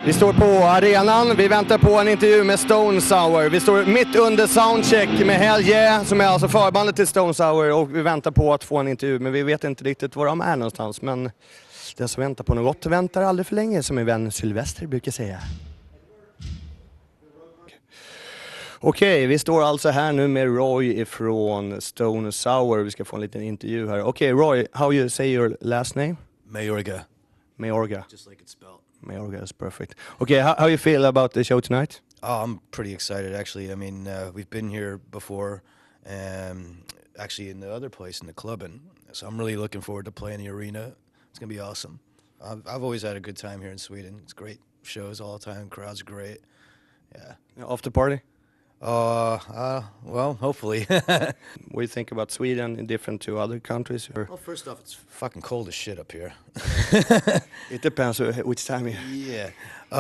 Vi står på arenan, vi väntar på en intervju med Stone Sour. Vi står mitt under soundcheck med Hell Yeah, som är alltså förbandet till Stone Sour, och vi väntar på att få en intervju, men vi vet inte riktigt var de är någonstans. Men den som väntar på något väntar aldrig för länge, som min vän Sylvester brukar säga. Okej, vi står alltså här nu med Roy ifrån Stone Sour. Vi ska få en liten intervju här. Okej, Roy, how you say your last name? Mayorga. Mayorga. Just like it's spelled. Mayorga is perfect. Okay, how you feel about the show tonight? Oh, I'm pretty excited, actually. I mean, we've been here before, actually in the other place, in the clubbing. So I'm really looking forward to playing the arena. It's going to be awesome. I've always had a good time here in Sweden. It's great shows all the time. Crowds are great. Yeah. After party? Well, hopefully. What do you think about Sweden different to other countries? Or? Well, first off, it's fucking cold as shit up here. It depends which time you... Yeah.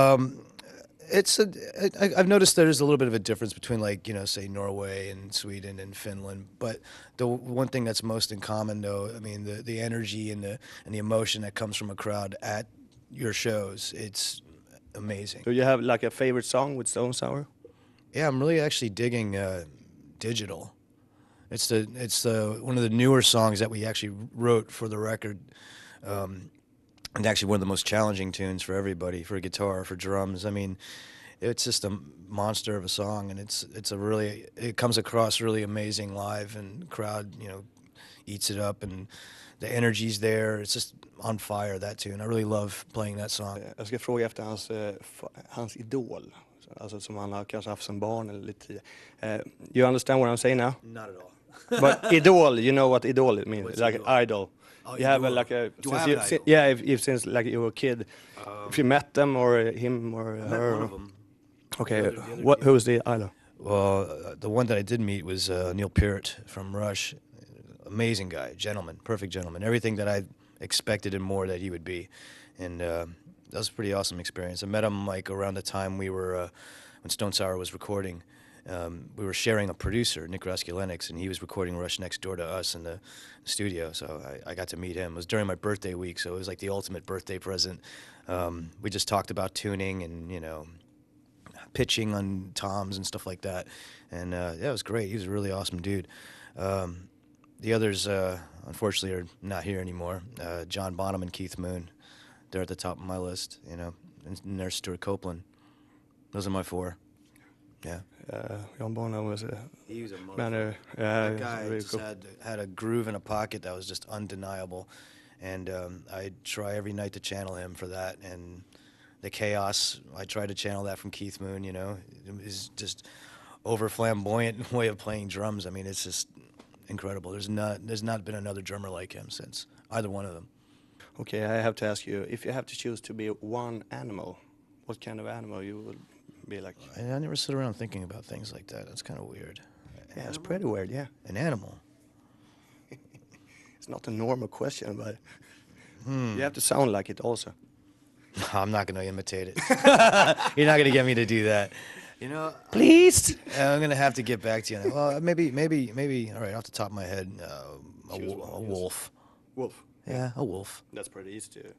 I've noticed there's a little bit of a difference between, like, you know, say Norway and Sweden and Finland. But the one thing that's most in common, though, I mean, the energy and the emotion that comes from a crowd at your shows, it's amazing. Do you have like a favorite song with Stone Sour? Yeah, I'm really actually digging Digital. It's the one of the newer songs that we actually wrote for the record, and actually one of the most challenging tunes for everybody, for guitar, for drums. I mean, it's just a monster of a song, and it comes across really amazing live, and the crowd, you know, eats it up, and the energy's there. It's just on fire, that tune. I really love playing that song. Jag ska fråga efter hans idol. Alltså som han har kanske haft som barn eller lite tidigare. You understand what I'm saying now? Not at all. But idol, you know what idol means? What's like idol? idol. Oh, You have idol. like a... Do I have an idol? Yeah, if since like you were a kid. If you met them or him or I her. met one of them. Okay, The other who's the idol? Well, the one that I did meet was Neil Peart from Rush. Amazing guy, gentleman, perfect gentleman. Everything that I expected and more that he would be. And that was a pretty awesome experience. I met him like around the time we were... when Stone Sour was recording, we were sharing a producer, Nick Raskulenix, and he was recording Rush next door to us in the studio, so I got to meet him. It was during my birthday week, so it was like the ultimate birthday present. We just talked about tuning and, you know, pitching on toms and stuff like that, and yeah, it was great. He was a really awesome dude. The others, unfortunately, are not here anymore. John Bonham and Keith Moon, they're at the top of my list, you know, and there's Stuart Copeland. Those are my four. Yeah. John Bonham was a... He was a manner. That guy really just had a groove in a pocket that was just undeniable. And I try every night to channel him for that. And the chaos, I try to channel that from Keith Moon, you know. His just over flamboyant way of playing drums. I mean, it's just incredible. There's not been another drummer like him since, either one of them. Okay, I have to ask you, if you have to choose to be one animal, what kind of animal you would be like? I never sit around thinking about things like that. That's kind of weird. Yeah, it's pretty weird, yeah. An animal. It's not a normal question, but you have to sound like it also. I'm not going to imitate it. You're not going to get me to do that. You know, Please. I'm going to have to get back to you. Well, maybe. All right, off the top of my head, a wolf. Wolf. Yeah, a wolf. That's pretty easy to...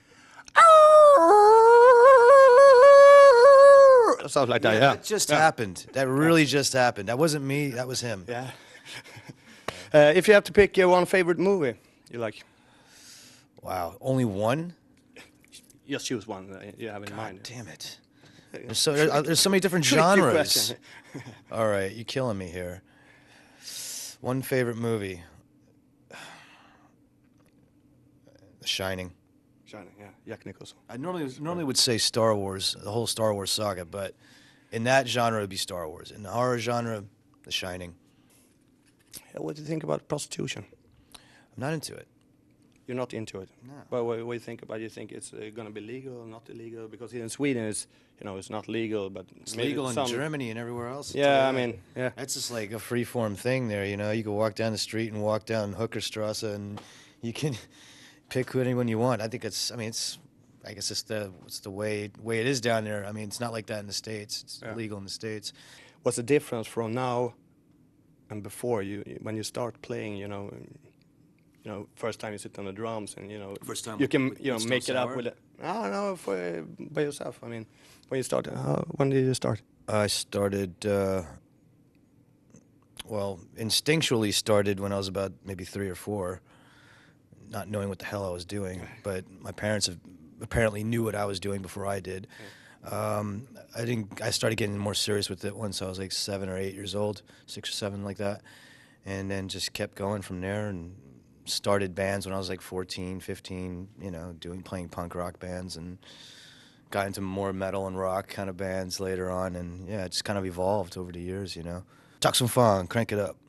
Sounds like that, yeah. That just happened. That really just happened. That wasn't me. That was him. Yeah. If you have to pick one favorite movie you like, Wow. Only one? just choose one you have in mind. Damn it. There's so many different Tricky genres. question. All right, you're killing me here. One favorite movie. The Shining. Shining, yeah. Jack Nicholson. I normally would say Star Wars, the whole Star Wars saga, but in that genre it would be Star Wars. In the horror genre, The Shining. What do you think about prostitution? I'm not into it. You're not into it? No. But what do you think about it? You think it's going to be legal or not illegal? Because here in Sweden, it's not legal, but... It's legal in Germany and everywhere else. Yeah, I mean, yeah. That's just like a free-form thing there, you know. You can walk down the street and walk down Hookerstrasse and you can pick who anyone you want. I think I guess it's the way it is down there. I mean, it's not like that in the States. It's illegal in the States. What's the difference from now and before when you start playing, you know, first time you sit on the drums and, First time you can, with make it up with No, by yourself. I mean, when you started, when did you start? I started, well, instinctually started when I was about maybe 3 or 4, not knowing what the hell I was doing. But my parents apparently knew what I was doing before I did. I started getting more serious with it once I was like 7 or 8 years old, 6 or 7, like that, and then just kept going from there. And started bands when I was like 14, 15. You know, playing punk rock bands, and got into more metal and rock kind of bands later on. And yeah, it just kind of evolved over the years. You know, talk some fun, crank it up.